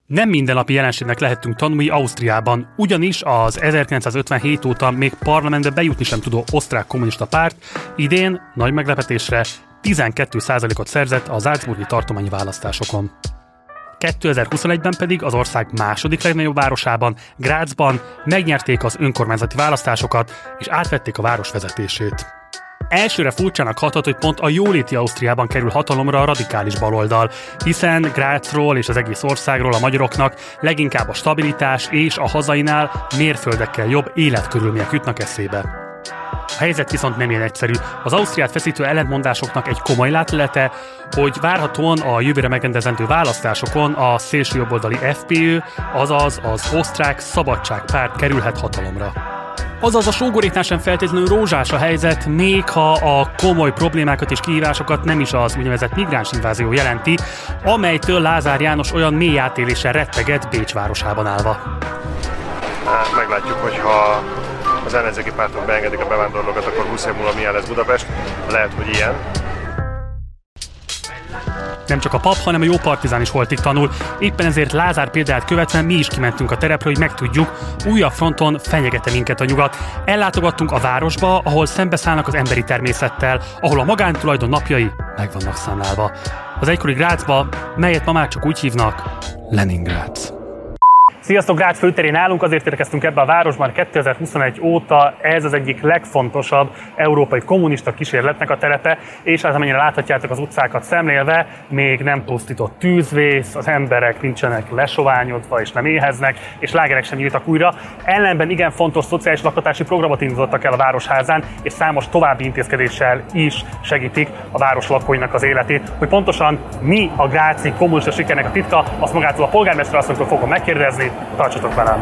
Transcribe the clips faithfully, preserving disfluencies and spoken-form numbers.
Nem mindennapi jelenségnek lehettünk tanulni Ausztriában, ugyanis az ezerkilencszázötvenhét óta még parlamentbe bejutni sem tudó osztrák kommunista párt idén nagy meglepetésre tizenkét százalékot szerzett a salzburgi tartományi választásokon. kétezer-huszonegyben pedig az ország második legnagyobb városában, Grazban megnyerték az önkormányzati választásokat és átvették a város vezetését. Elsőre furcsának hathat, hogy pont a jóléti Ausztriában kerül hatalomra a radikális baloldal, hiszen Grazról és az egész országról a magyaroknak leginkább a stabilitás és a hazainál mérföldekkel jobb életkörülmények jutnak eszébe. A helyzet viszont nem ilyen egyszerű. Az Ausztriát feszítő ellentmondásoknak egy komoly látlete, hogy várhatóan a jövőre megrendezendő választásokon a szélsőjobboldali ef pé ö, azaz az osztrák szabadságpárt kerülhet hatalomra. Azaz a sógoréknál sem feltétlenül rózsás a helyzet, még ha a komoly problémákat és kihívásokat nem is az úgynevezett migráns invázió jelenti, amelytől Lázár János olyan mély átéléssel retteget Bécs városában állva. Meglátjuk, hogyha az ellenzéki pártok beengedik a bevándorlókat, akkor húsz év múlva milyen lesz Budapest. Lehet, hogy ilyen. Nem csak a pap, hanem a jó partizán is holtig tanul. Éppen ezért Lázár példáját követve mi is kimentünk a terepre, hogy megtudjuk, újabb fronton fenyegete minket a nyugat. Ellátogattunk a városba, ahol szembeszállnak az emberi természettel, ahol a magántulajdon napjai meg vannak számlálva. Az egykori Grazba, melyet ma már csak úgy hívnak, Leningrad. Sziasztok, Grácz főterén állunk, azért érkeztünk ebbe a városban kétezer-huszonegy óta, ez az egyik legfontosabb európai kommunista kísérletnek a terepe, és az, amennyire láthatjátok az utcákat szemlélve, még nem pusztított tűzvész, az emberek nincsenek lesoványodva és nem éheznek, és lágerek sem nyíltak újra. Ellenben igen fontos szociális lakhatási programot indítottak el a Városházán, és számos további intézkedéssel is segítik a város lakóinak az életét. Hogy pontosan mi a gráci kommunista sikernek a titka, azt magától a polgármester asszonytól fogom megkérdezni. Tartsatok velem!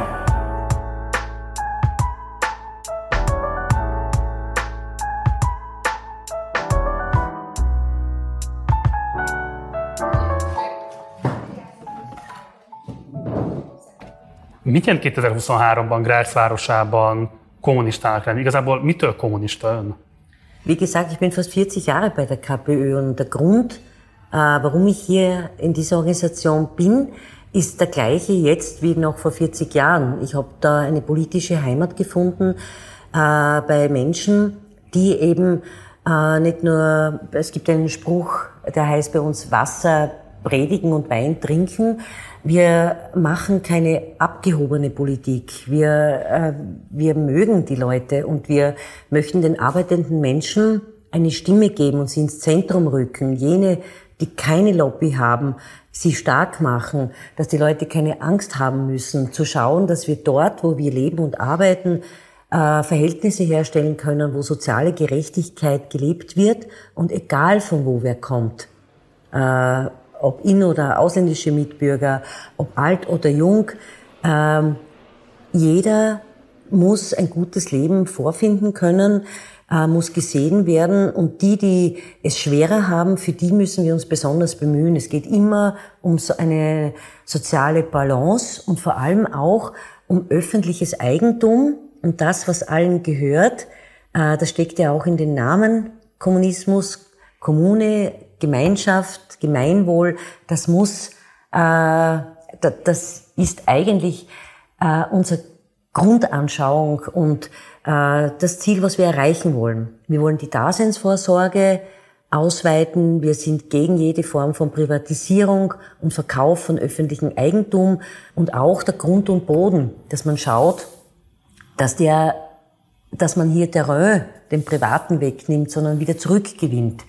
Mit jelent kétezer-huszonháromban Graz városában kommunistának lenni? Igazából mitől kommunista ön? Wie gesagt, ich bin fast vierzig Jahre bei der ká pé ö und der Grund, warum ich hier in dieser Organisation bin, ist der gleiche jetzt wie noch vor vierzig Jahren. Ich habe da eine politische Heimat gefunden äh, bei Menschen, die eben äh, nicht nur, es gibt einen Spruch, der heißt bei uns Wasser predigen und Wein trinken. Wir machen keine abgehobene Politik. Wir, äh, wir mögen die Leute und wir möchten den arbeitenden Menschen eine Stimme geben und sie ins Zentrum rücken. Jene, die keine Lobby haben, sie stark machen, dass die Leute keine Angst haben müssen, zu schauen, dass wir dort, wo wir leben und arbeiten, äh, Verhältnisse herstellen können, wo soziale Gerechtigkeit gelebt wird und egal von wo wer kommt, äh, ob in- oder ausländische Mitbürger, ob alt oder jung, äh, jeder muss ein gutes Leben vorfinden können, muss gesehen werden und die, die es schwerer haben, für die müssen wir uns besonders bemühen. Es geht immer um so eine soziale Balance und vor allem auch um öffentliches Eigentum und das, was allen gehört. Das steckt ja auch in den Namen Kommunismus, Kommune, Gemeinschaft, Gemeinwohl. Das muss, das ist eigentlich unser Grundanschauung und äh, das Ziel, was wir erreichen wollen. Wir wollen die Daseinsvorsorge ausweiten. Wir sind gegen jede Form von Privatisierung und Verkauf von öffentlichem Eigentum und auch der Grund und Boden, dass man schaut, dass der, dass man hier Terrain den Privaten wegnimmt, sondern wieder zurückgewinnt.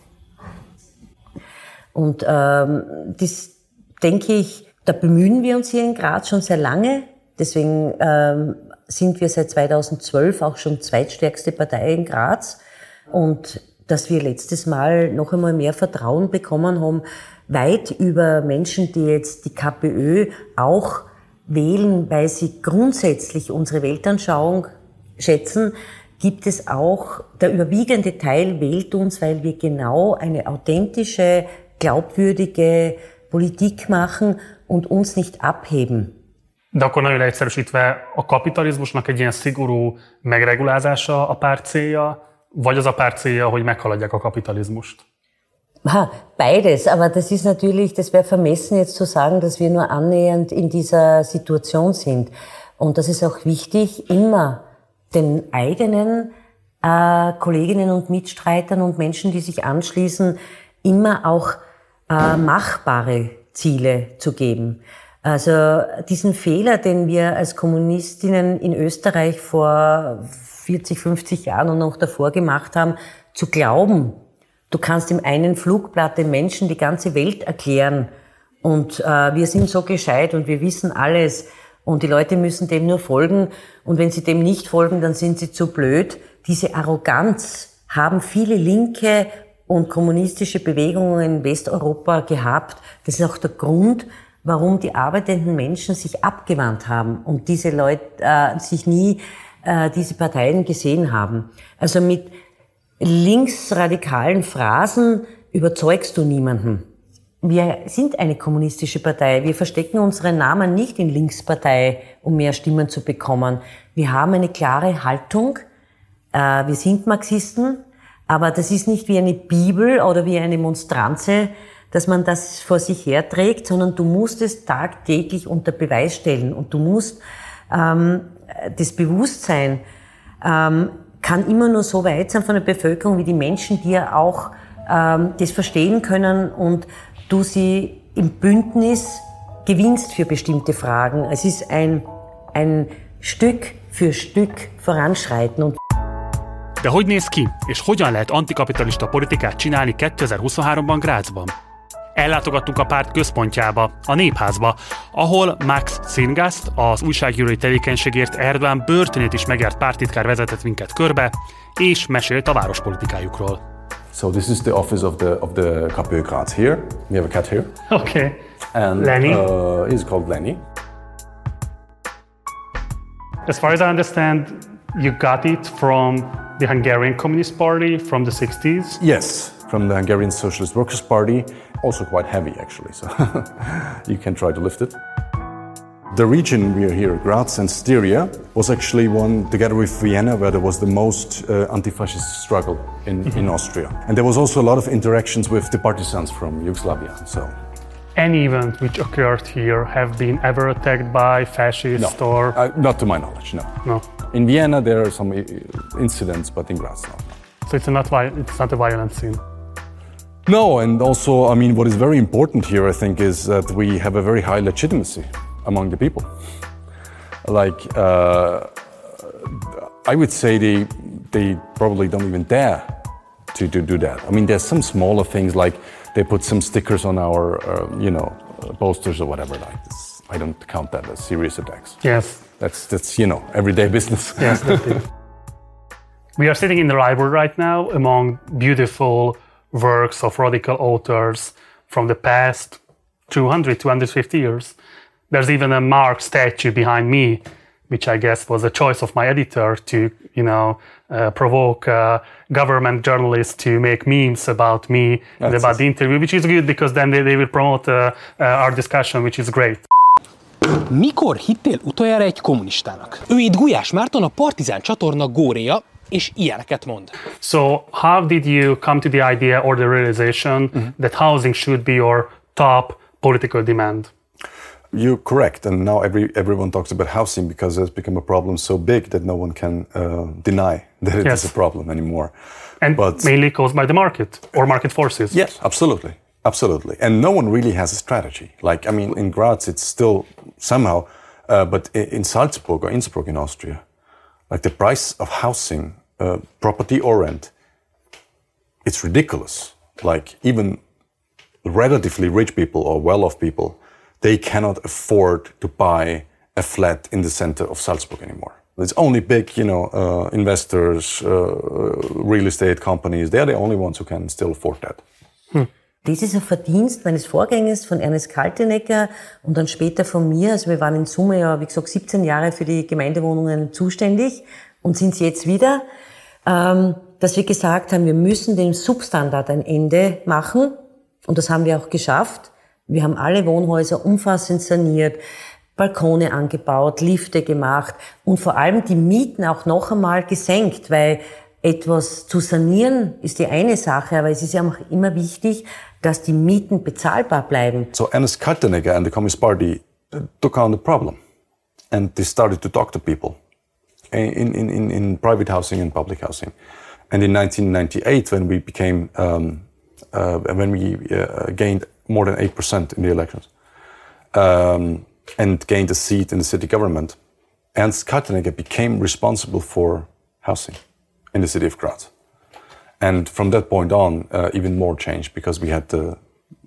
Und ähm, das denke ich, da bemühen wir uns hier in Graz schon sehr lange. Deswegen ähm, sind wir seit zweitausendzwölf auch schon zweitstärkste Partei in Graz. Und dass wir letztes Mal noch einmal mehr Vertrauen bekommen haben, weit über Menschen, die jetzt die ká pé ö auch wählen, weil sie grundsätzlich unsere Weltanschauung schätzen, gibt es auch, der überwiegende Teil wählt uns, weil wir genau eine authentische, glaubwürdige Politik machen und uns nicht abheben. De akkor nagyon leegyszerűsítve, a kapitalizmusnak egy ilyen szigorú megregulázása a párt célja, vagy az a párt célja, hogy meghaladják a kapitalizmust? Ha, beides, aber das ist natürlich, das wäre vermessen jetzt zu sagen, dass wir nur annähernd in dieser Situation sind. Und das ist auch wichtig, immer den eigenen äh, Kolleginnen und Mitstreitern und Menschen, die sich anschließen, immer auch äh, machbare Ziele zu geben. Also diesen Fehler, den wir als Kommunistinnen in Österreich vor vierzig, fünfzig Jahren und noch davor gemacht haben, zu glauben, du kannst im einen Flugblatt den Menschen die ganze Welt erklären und äh, wir sind so gescheit und wir wissen alles und die Leute müssen dem nur folgen und wenn sie dem nicht folgen, dann sind sie zu blöd. Diese Arroganz haben viele linke und kommunistische Bewegungen in Westeuropa gehabt. Das ist auch der Grund, warum die arbeitenden Menschen sich abgewandt haben und diese Leute äh, sich nie äh, diese Parteien gesehen haben. Also mit linksradikalen Phrasen überzeugst du niemanden. Wir sind eine kommunistische Partei. Wir verstecken unseren Namen nicht in Linkspartei, um mehr Stimmen zu bekommen. Wir haben eine klare Haltung. Äh, wir sind Marxisten, aber das ist nicht wie eine Bibel oder wie eine Monstranze, dass man das vor sich herträgt, sondern du musst es tagtäglich unter Beweis stellen und du musst ähm, das Bewusstsein ähm, kann immer nur so weit sein von der Bevölkerung, wie die Menschen dir auch ähm, das verstehen können und du sie im Bündnis gewinnst für bestimmte Fragen. Es ist ein, ein Stück für Stück voranschreiten. Und De hogy néz ki, és hogyan lehet antikapitalista politikát csinálni kétezer-huszonháromban Grazban? Ellátogattunk a párt központjába, a Népházba, ahol Max Szingast, az újságírói tevékenységért Erdoğan börtönét is megjárt párttitkár vezetett minket körbe, és mesélt a várospolitikájukról. So this is the office of the of the KPÖ Graz here. We have a cat here. Okay. And Lenny? Uh, he's called Lenny. As far as I understand, you got it from the Hungarian Communist Party from the sixties? Yes, from the Hungarian Socialist Workers' Party. Also quite heavy, actually, so you can try to lift it. The region we are here, Graz and Styria, was actually one, together with Vienna, where there was the most uh, anti-fascist struggle in, mm-hmm. in Austria. And there was also a lot of interactions with the partisans from Yugoslavia. So, any event which occurred here have been ever attacked by fascists no, or? Uh, not to my knowledge, no. No. In Vienna there are some incidents, but in Graz, no. So it's not, it's not a violent scene? No, and also, I mean, what is very important here, I think, is that we have a very high legitimacy among the people. Like, uh, I would say they they probably don't even dare to, to do that. I mean, there's some smaller things, like they put some stickers on our, uh, you know, uh, posters or whatever like this. I don't count that as serious attacks. Yes. That's, that's you know, everyday business. Yes, that is. We are sitting in the library right now among beautiful works of radical authors from the past two hundred, two hundred fifty years. There's even a Marx statue behind me, which I guess was a choice of my editor to, you know, uh, provoke uh, government journalists to make memes about me and about the interview, which is good because then they, they will promote uh, uh, our discussion, which is great. Mikor hittél utoljára egy kommunistának? Ő itt Gulyás Márton, a Partizán csatorna góréja, és ilyeneket mond. So how did you come to the idea or the realization mm-hmm. that housing should be your top political demand? You're correct, and now every everyone talks about housing because it's become a problem so big that no one can uh, deny that it yes. is a problem anymore. And but mainly caused by the market or market forces. Yes, absolutely, absolutely. And no one really has a strategy. Like, I mean, in Graz it's still somehow, uh, but in Salzburg or Innsbruck in Austria, like the price of housing, uh, property or rent, it's ridiculous. Like even relatively rich people or well-off people, they cannot afford to buy a flat in the center of Salzburg anymore. It's only big, you know, uh, investors, uh, real estate companies. They're the only ones who can still afford that. Hm. Das ist ein Verdienst meines Vorgängers, von Ernest Kaltenecker und dann später von mir. Also wir waren in Summe ja, wie gesagt, siebzehn Jahre für die Gemeindewohnungen zuständig und sind es jetzt wieder, ähm, dass wir gesagt haben, wir müssen dem Substandard ein Ende machen und das haben wir auch geschafft. Wir haben alle Wohnhäuser umfassend saniert, Balkone angebaut, Lifte gemacht und vor allem die Mieten auch noch einmal gesenkt, weil etwas zu sanieren ist die eine Sache, aber es ist ja auch immer wichtig, dass die Mieten bezahlbar bleiben. So Ernest Kaltenegger and the Communist Party took on the problem and they started to talk to people in, in, in, in private housing and public housing. And in nineteen ninety-eight, when we became, um, uh, when we uh, gained more than eight percent in the elections um, and gained a seat in the city government, Ernst Kaltenegger became responsible for housing in the city of Graz. And from that point on, uh, even more changed because we had the,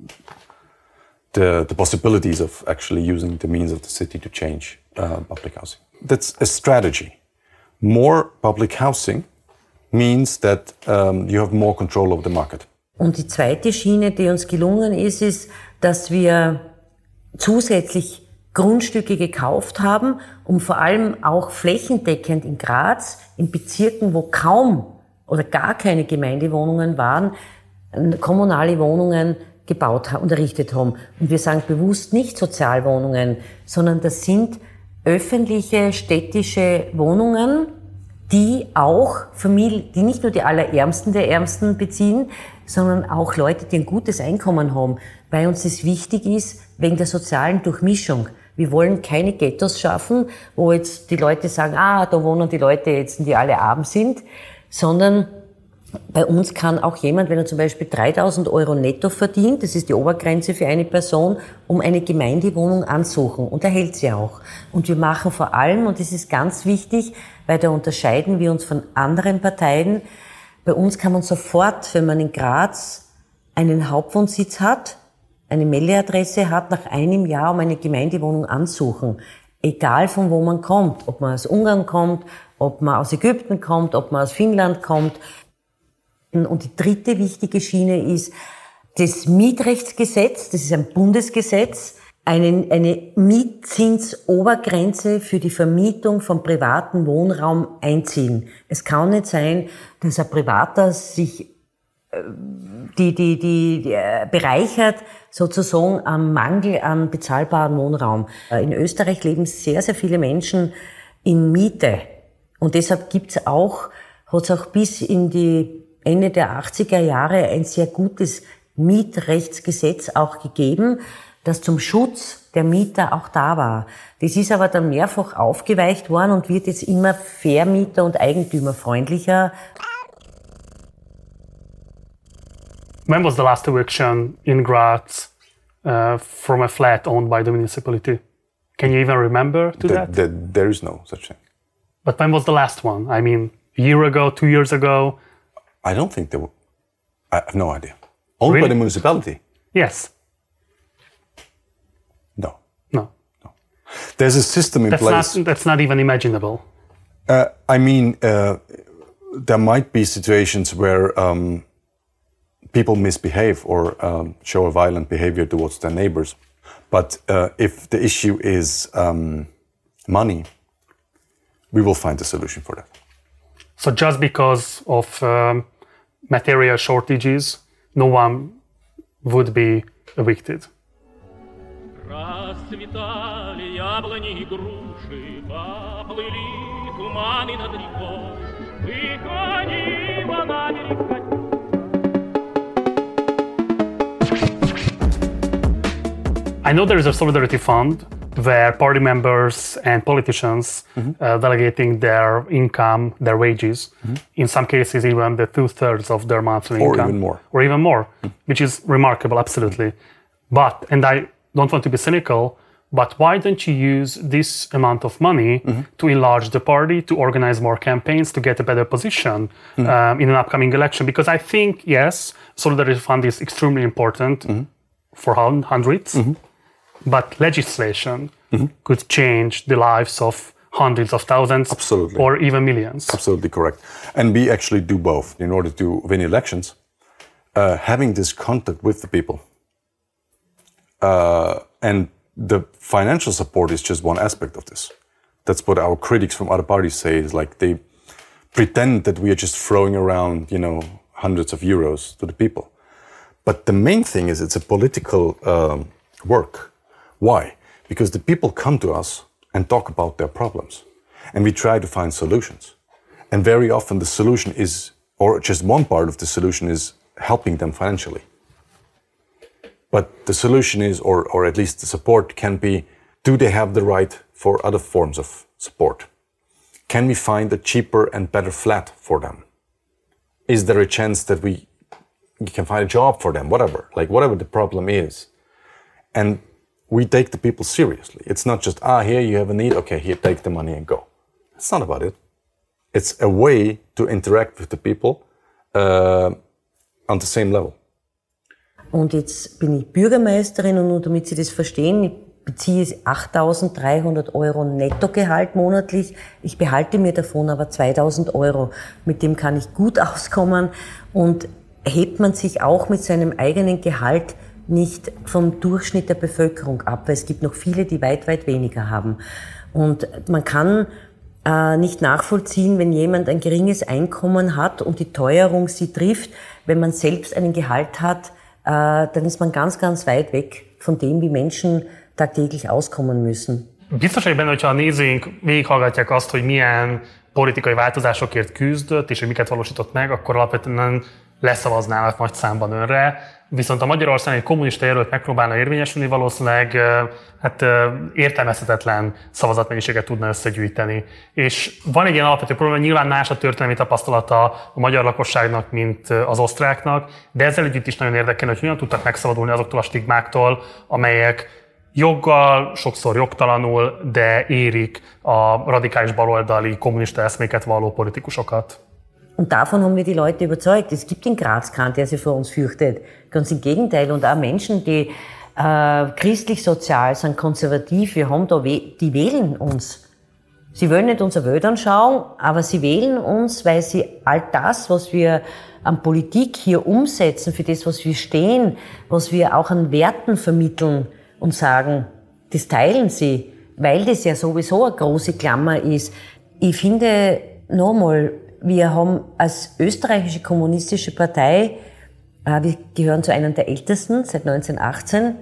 the the possibilities of actually using the means of the city to change uh, public housing. That's a strategy. More public housing means that um, you have more control over the market. Und die zweite Schiene, die uns gelungen ist, ist, dass wir zusätzlich Grundstücke gekauft haben, um vor allem auch flächendeckend in Graz, in Bezirken, wo kaum oder gar keine Gemeindewohnungen waren, kommunale Wohnungen gebaut und errichtet haben. Und wir sagen bewusst nicht Sozialwohnungen, sondern das sind öffentliche städtische Wohnungen, die auch Familien, die nicht nur die Allerärmsten der Ärmsten beziehen, sondern auch Leute, die ein gutes Einkommen haben, weil uns das wichtig ist wegen der sozialen Durchmischung. Wir wollen keine Ghettos schaffen, wo jetzt die Leute sagen, ah, da wohnen die Leute jetzt, die alle arm sind, sondern bei uns kann auch jemand, wenn er zum Beispiel dreitausend Euro netto verdient, das ist die Obergrenze für eine Person, um eine Gemeindewohnung ansuchen und erhält sie auch. Und wir machen vor allem, und das ist ganz wichtig, weil da unterscheiden wir uns von anderen Parteien, bei uns kann man sofort, wenn man in Graz einen Hauptwohnsitz hat, eine Meldeadresse hat, nach einem Jahr um eine Gemeindewohnung ansuchen. Egal von wo man kommt, ob man aus Ungarn kommt, ob man aus Ägypten kommt, ob man aus Finnland kommt. Und die dritte wichtige Schiene ist das Mietrechtsgesetz, das ist ein Bundesgesetz, eine, eine Mietzinsobergrenze für die Vermietung von privaten Wohnraum einziehen. Es kann nicht sein, dass ein Privater sich die, die, die, die bereichert sozusagen am Mangel an bezahlbaren Wohnraum. In Österreich leben sehr, sehr viele Menschen in Miete. Und deshalb gibt's auch, hat es auch bis in die Ende der achtziger Jahre ein sehr gutes Mietrechtsgesetz auch gegeben, das zum Schutz der Mieter auch da war. Das ist aber dann mehrfach aufgeweicht worden und wird jetzt immer vermieter- und eigentümerfreundlicher. When was the last eviction in Graz uh, from a flat owned by the municipality? Can you even remember to The, that? the, there is no such thing. But when was the last one? I mean, a year ago, two years ago? I don't think there were. I have no idea. Owned Really? by the municipality? Yes. No. No. There's a system in That's place. not, that's not even imaginable. Uh, I mean, uh, there might be situations where um, people misbehave or um, show a violent behavior towards their neighbors. But uh, if the issue is um, money, we will find a solution for that. So just because of um, material shortages, no one would be evicted. Расцветали яблони и груши, поплыли туманы над рекой, выходила на берег Катюша. I know there is a solidarity fund where party members and politicians mm-hmm. uh, delegating their income, their wages, mm-hmm. in some cases even the two-thirds of their monthly or income. Even more. Or even more, mm-hmm. which is remarkable, absolutely. But, and I don't want to be cynical, but why don't you use this amount of money mm-hmm. to enlarge the party, to organize more campaigns, to get a better position mm-hmm. um, in an upcoming election? Because I think, yes, solidarity fund is extremely important mm-hmm. for hundreds. Mm-hmm. But legislation mm-hmm. could change the lives of hundreds of thousands Absolutely. Or even millions. Absolutely correct. And we actually do both in order to win elections. Uh, having this contact with the people. Uh, and the financial support is just one aspect of this. That's what our critics from other parties say, is like they pretend that we are just throwing around, you know, hundreds of euros to the people. But the main thing is it's a political um, work. Why? Because the people come to us and talk about their problems. And we try to find solutions. And very often the solution is, or just one part of the solution is helping them financially. But the solution is, or, or at least the support can be, do they have the right for other forms of support? Can we find a cheaper and better flat for them? Is there a chance that we, we can find a job for them? Whatever, like whatever the problem is. And we take the people seriously. It's not just, ah, here you have a need, okay, here, take the money and go. It's not about it. It's a way to interact with the people uh, on the same level. Und jetzt bin ich Bürgermeisterin und nur damit Sie das verstehen, ich beziehe achttausenddreihundert Euro Nettogehalt monatlich. Ich behalte mir davon aber zweitausend Euro. Mit dem kann ich gut auskommen und hebt man sich auch mit seinem eigenen Gehalt nicht vom Durchschnitt der Bevölkerung ab, weil es gibt noch viele, die weit, weit weniger haben. Und man kann äh, nicht nachvollziehen, wenn jemand ein geringes Einkommen hat und die Teuerung sie trifft, wenn man selbst einen Gehalt hat, äh, dann ist man ganz, ganz weit weg von dem, wie Menschen tagtäglich auskommen müssen. Biztos vagyok benne, hogyha a nézőink végighallgatják azt, hogy milyen politikai változásokért küzdött, és hogy miket valósított meg, akkor alapvetően leszavaznának nagy számban önre. Viszont a Magyarországon egy kommunista jelölt megpróbálna érvényesülni, valószínűleg hát, értelmezhetetlen szavazatmennyiséget tudna összegyűjteni. És van egy ilyen alapvető probléma, nyilván más a történelmi tapasztalata a magyar lakosságnak, mint az osztráknak, de ezzel együtt is nagyon érdekelne, hogy hogyan tudtak megszabadulni azoktól a stigmáktól, amelyek joggal, sokszor jogtalanul, de érik a radikális baloldali kommunista eszméket valló politikusokat. Und davon haben wir die Leute überzeugt. Es gibt in Graz keinen, der sich vor uns fürchtet. Ganz im Gegenteil. Und auch Menschen, die äh, christlich-sozial sind, konservativ, wir haben da, die wählen uns. Sie wollen nicht unser Welt anschauen, aber sie wählen uns, weil sie all das, was wir an Politik hier umsetzen, für das, was wir stehen, was wir auch an Werten vermitteln und sagen, das teilen sie, weil das ja sowieso eine große Klammer ist. Ich finde, nochmal, wir haben als österreichische kommunistische Partei, äh, wir gehören zu einer der ältesten, seit neunzehnhundertachtzehn,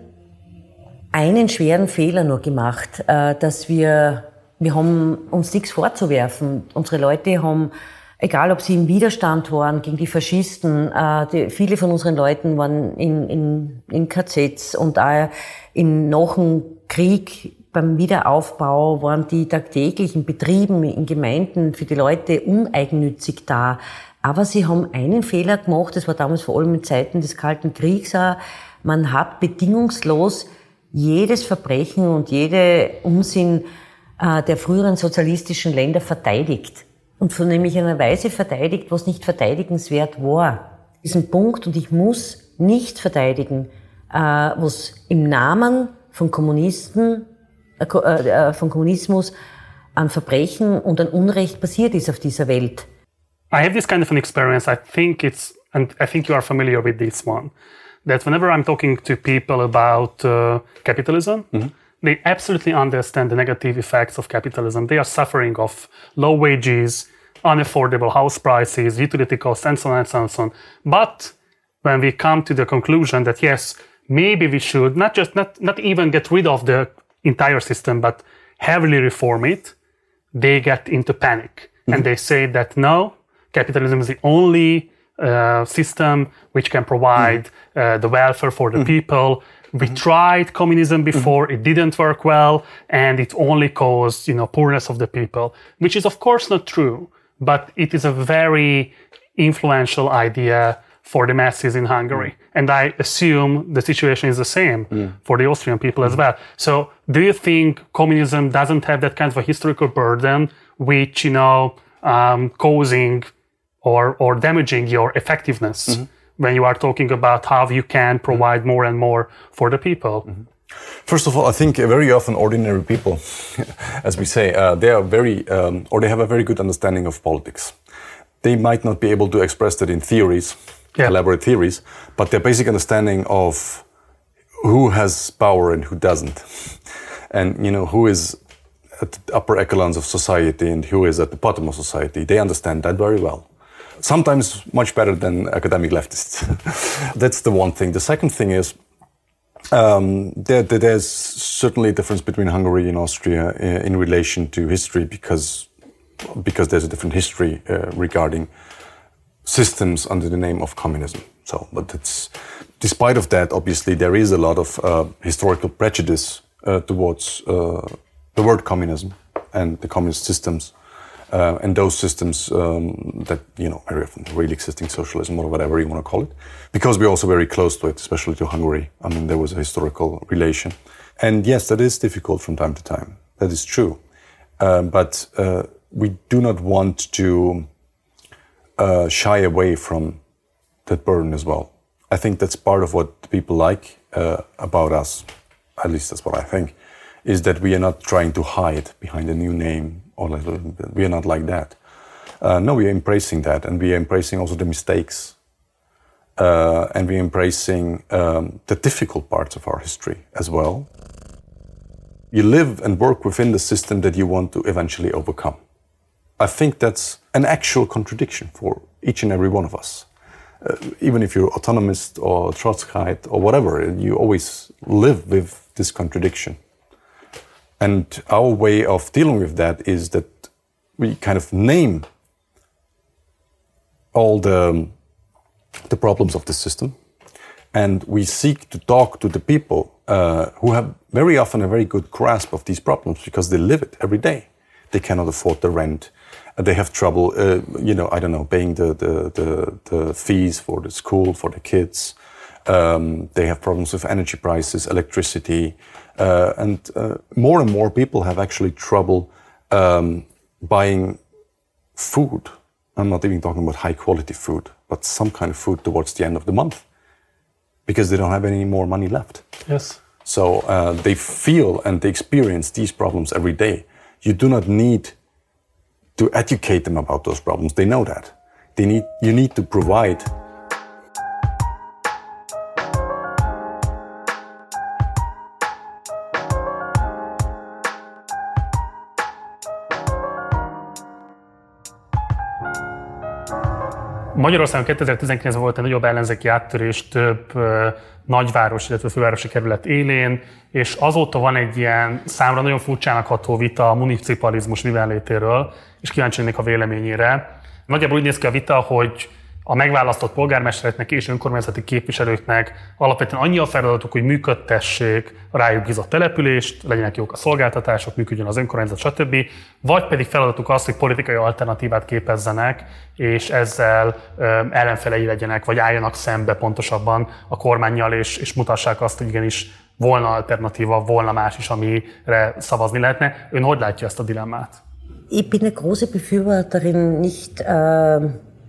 einen schweren Fehler nur gemacht, äh, dass wir, wir haben uns nichts vorzuwerfen. Unsere Leute haben, egal ob sie im Widerstand waren gegen die Faschisten, äh, die, viele von unseren Leuten waren in, in, in K Zs und auch in, nach dem Krieg, beim Wiederaufbau waren die tagtäglich in Betrieben, in Gemeinden für die Leute uneigennützig da. Aber sie haben einen Fehler gemacht, das war damals vor allem in Zeiten des Kalten Kriegs auch. Man hat bedingungslos jedes Verbrechen und jede Unsinn äh, der früheren sozialistischen Länder verteidigt. Und von nämlich einer Weise verteidigt, was nicht verteidigenswert war. Diesen Punkt, und ich muss nicht verteidigen, äh, was im Namen von Kommunisten von Kommunismus an Verbrechen und an Unrecht passiert ist auf dieser Welt. I have this kind of an experience. I think it's, and I think you are familiar with this one, that whenever I'm talking to people about uh, capitalism, mm-hmm. they absolutely understand the negative effects of capitalism. They are suffering of low wages, unaffordable house prices, utility costs, and so on and so on and so on. But when we come to the conclusion that yes, maybe we should not just not not even get rid of the entire system, but heavily reform it, they get into panic. Mm-hmm. And they say that no, capitalism is the only uh, system which can provide mm-hmm. uh, the welfare for the mm-hmm. people. We mm-hmm. tried communism before, mm-hmm. it didn't work well, and it only caused, you know, poorness of the people, which is of course not true, but it is a very influential idea for the masses in Hungary. Mm. And I assume the situation is the same mm. for the Austrian people mm. as well. So do you think communism doesn't have that kind of a historical burden which, you know, um, causing or, or damaging your effectiveness mm-hmm. when you are talking about how you can provide mm. more and more for the people? Mm-hmm. First of all, I think very often ordinary people, as we say, uh, they are very, um, or they have a very good understanding of politics. They might not be able to express that in theories, Yeah. elaborate theories, but their basic understanding of who has power and who doesn't, and you know who is at the upper echelons of society and who is at the bottom of society, they understand that very well. Sometimes much better than academic leftists. That's the one thing. The second thing is um, there, there's certainly a difference between Hungary and Austria in relation to history, because because there's a different history uh, regarding systems under the name of communism. So, but it's, despite of that, obviously there is a lot of uh, historical prejudice uh, towards uh, the word communism and the communist systems, uh, and those systems um, that, you know, very often really existing socialism or whatever you want to call it, because we're also very close to it, especially to Hungary. I mean, there was a historical relation. And yes, that is difficult from time to time. That is true. Uh, but uh, we do not want to uh, shy away from that burden as well. I think that's part of what people like uh, about us, at least that's what I think, is that we are not trying to hide behind a new name, or like, we are not like that. Uh, no, we are embracing that, and we are embracing also the mistakes, uh, and we are embracing um, the difficult parts of our history as well. You live and work within the system that you want to eventually overcome. I think that's an actual contradiction for each and every one of us. Uh, even if you're autonomist or Trotskyite or whatever, you always live with this contradiction. And our way of dealing with that is that we kind of name all the, the problems of the system, and we seek to talk to the people uh, who have very often a very good grasp of these problems because they live it every day. They cannot afford the rent. Uh, they have trouble, uh, you know, I don't know, paying the, the, the, the fees for the school, for the kids. Um, they have problems with energy prices, electricity. Uh, and uh, more and more people have actually trouble um, buying food. I'm not even talking about high quality food, but some kind of food towards the end of the month, because they don't have any more money left. Yes. So uh, they feel and they experience these problems every day. You do not need to educate them about those problems. They know that. They need, you need to provide. Magyarországon kétezer-tizenkilencben volt egy nagyobb ellenzéki áttörés több uh, nagyváros, illetve fővárosi kerület élén, és azóta van egy ilyen számra nagyon furcsának ható vita a municipalizmus mibenlétéről, és kíváncsi lennék a véleményére. Nagyjából úgy néz ki a vita, hogy a megválasztott polgármestereknek és önkormányzati képviselőknek alapvetően annyi a feladatuk, hogy működtessék a rájuk bízott települést, legyenek jók a szolgáltatások, működjön az önkormányzat, stb. Vagy pedig feladatuk az, hogy politikai alternatívát képezzenek, és ezzel ö, ellenfelei legyenek, vagy álljanak szembe pontosabban a kormánnyal, és, és mutassák azt, hogy igenis volna alternatíva, volna más is, amire szavazni lehetne. Ön hogy látja ezt a dilemmát? Ich bin eine große Befürworterin, nicht äh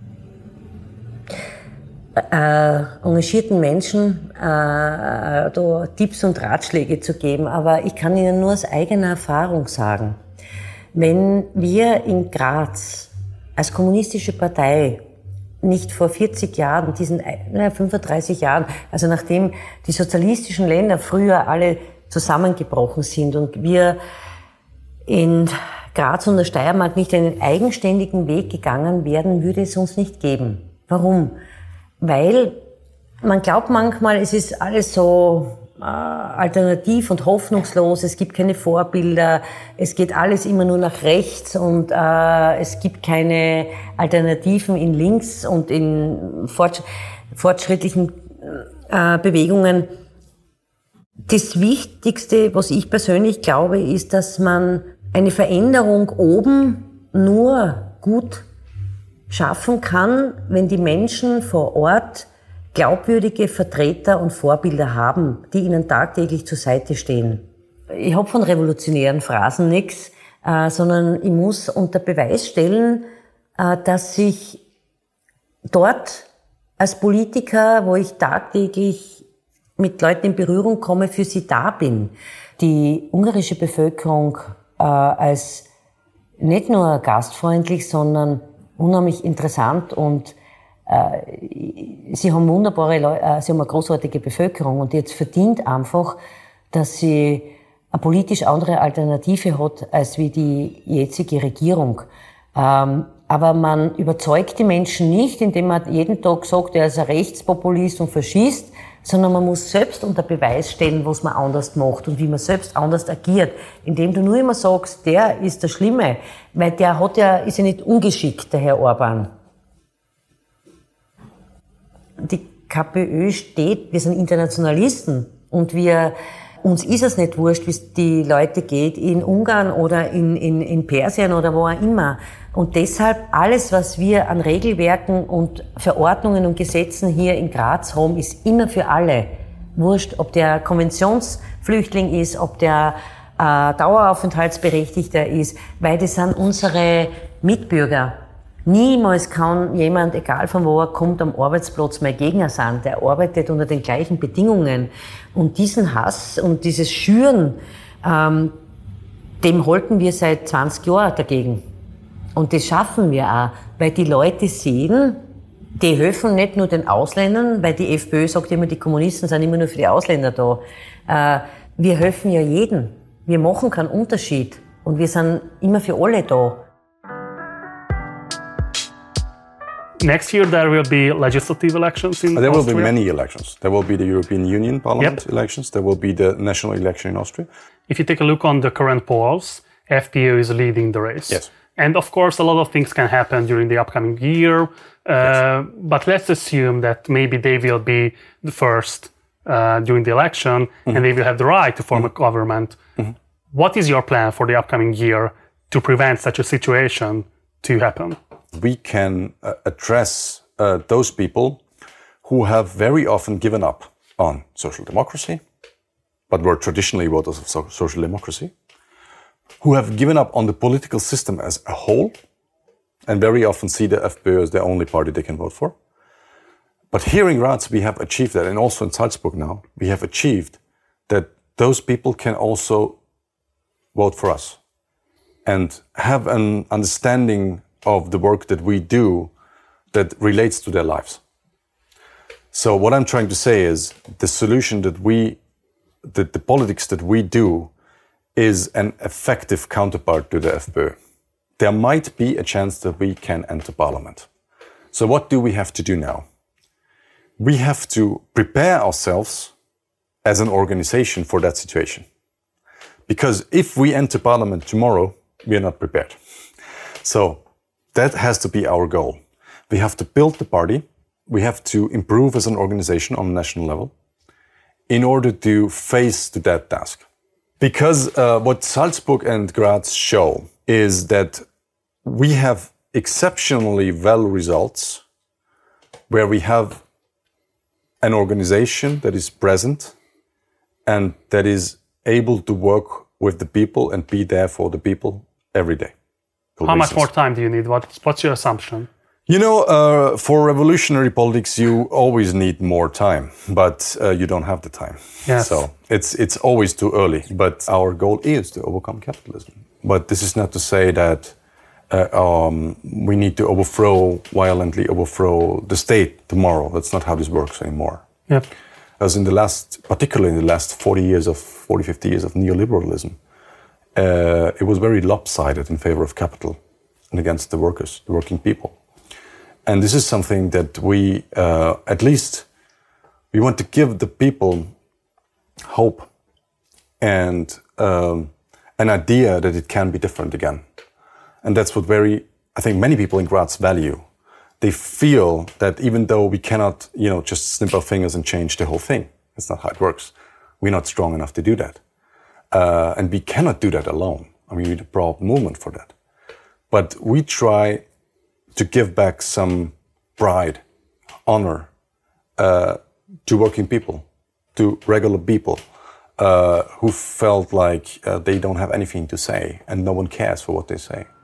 Äh, engagierten Menschen äh, da Tipps und Ratschläge zu geben, aber ich kann Ihnen nur aus eigener Erfahrung sagen, wenn wir in Graz als kommunistische Partei nicht vor vierzig Jahren, diesen na, fünfunddreißig Jahren, also nachdem die sozialistischen Länder früher alle zusammengebrochen sind und wir in Graz und der Steiermark nicht einen eigenständigen Weg gegangen wären, würde es uns nicht geben. Warum? Weil man glaubt manchmal, es ist alles so äh, alternativ und hoffnungslos, es gibt keine Vorbilder, es geht alles immer nur nach rechts und äh, es gibt keine Alternativen in links und in fortsch- fortschrittlichen äh, Bewegungen. Das Wichtigste, was ich persönlich glaube, ist, dass man eine Veränderung oben nur gut schaffen kann, wenn die Menschen vor Ort glaubwürdige Vertreter und Vorbilder haben, die ihnen tagtäglich zur Seite stehen. Ich habe von revolutionären Phrasen nichts, äh, sondern ich muss unter Beweis stellen, äh, dass ich dort als Politiker, wo ich tagtäglich mit Leuten in Berührung komme, für sie da bin. Die ungarische Bevölkerung äh, als nicht nur gastfreundlich, sondern unheimlich interessant und äh, sie haben wunderbare Leute, äh, sie haben eine großartige Bevölkerung und jetzt verdient einfach, dass sie eine politisch andere Alternative hat als wie die jetzige Regierung. Ähm, aber man überzeugt die Menschen nicht, indem man jeden Tag sagt, er ist ein Rechtspopulist und Faschist, sondern man muss selbst unter Beweis stellen, was man anders macht und wie man selbst anders agiert, indem du nur immer sagst, der ist der Schlimme, weil der hat ja, ist ja nicht ungeschickt, der Herr Orban. Die KPÖ steht, wir sind Internationalisten und wir, uns ist es nicht wurscht, wie es die Leute geht in Ungarn oder in, in, in Persien oder wo auch immer. Und deshalb alles, was wir an Regelwerken und Verordnungen und Gesetzen hier in Graz haben, ist immer für alle. Wurscht, ob der Konventionsflüchtling ist, ob der äh, Daueraufenthaltsberechtigter ist, weil das sind unsere Mitbürger. Niemals kann jemand, egal von wo er kommt, am Arbeitsplatz mein Gegner sein. Der arbeitet unter den gleichen Bedingungen. Und diesen Hass und dieses Schüren, ähm, dem halten wir seit zwanzig Jahren dagegen. Und das schaffen wir auch, weil die Leute sehen, die helfen nicht nur den Ausländern, weil die FPÖ sagt immer, die Kommunisten sind immer nur für die Ausländer da. Äh, wir helfen ja jedem. Wir machen keinen Unterschied. Und wir sind immer für alle da. Next year there will be legislative elections in There will Austria. be many elections. There will be the European Union Parliament Yep. elections. There will be the national election in Austria. If you take a look on the current polls, F P Ö is leading the race. Yes. And of course, a lot of things can happen during the upcoming year. Uh, Yes. But let's assume that maybe they will be the first uh, during the election Mm-hmm. and they will have the right to form mm-hmm. a government. Mm-hmm. What is your plan for the upcoming year to prevent such a situation to happen? We can uh, address uh, those people who have very often given up on social democracy, but were traditionally voters of so- social democracy, who have given up on the political system as a whole, and very often see the FPÖ as the only party they can vote for. But here in Graz, we have achieved that, and also in Salzburg now, we have achieved that those people can also vote for us and have an understanding of the work that we do that relates to their lives. So what I'm trying to say is the solution that we, that the politics that we do is an effective counterpart to the FPÖ. There might be a chance that we can enter parliament. So what do we have to do now? We have to prepare ourselves as an organization for that situation. Because if we enter parliament tomorrow, we are not prepared. So that has to be our goal. We have to build the party. We have to improve as an organization on a national level in order to face to that task. Because uh, what Salzburg and Graz show is that we have exceptionally well results where we have an organization that is present and that is able to work with the people and be there for the people every day. How much more time do you need? What, what's your assumption? You know, uh, for revolutionary politics, you always need more time, but uh, you don't have the time. Yes. So it's it's always too early. But our goal is to overcome capitalism. But this is not to say that uh, um, we need to overthrow, violently overthrow the state tomorrow. That's not how this works anymore. Yep. As in the last, particularly in the last forty years of, forty, fifty years of neoliberalism, uh, it was very lopsided in favor of capital and against the workers, the working people. And this is something that we, uh, at least, we want to give the people hope and um, an idea that it can be different again. And that's what very, I think many people in Graz value. They feel that even though we cannot, you know, just snip our fingers and change the whole thing, that's not how it works. We're not strong enough to do that. Uh, and we cannot do that alone. I mean, we need a broad movement for that. But we try to give back some pride, honor uh, to working people, to regular people uh, who felt like uh, they don't have anything to say and no one cares for what they say.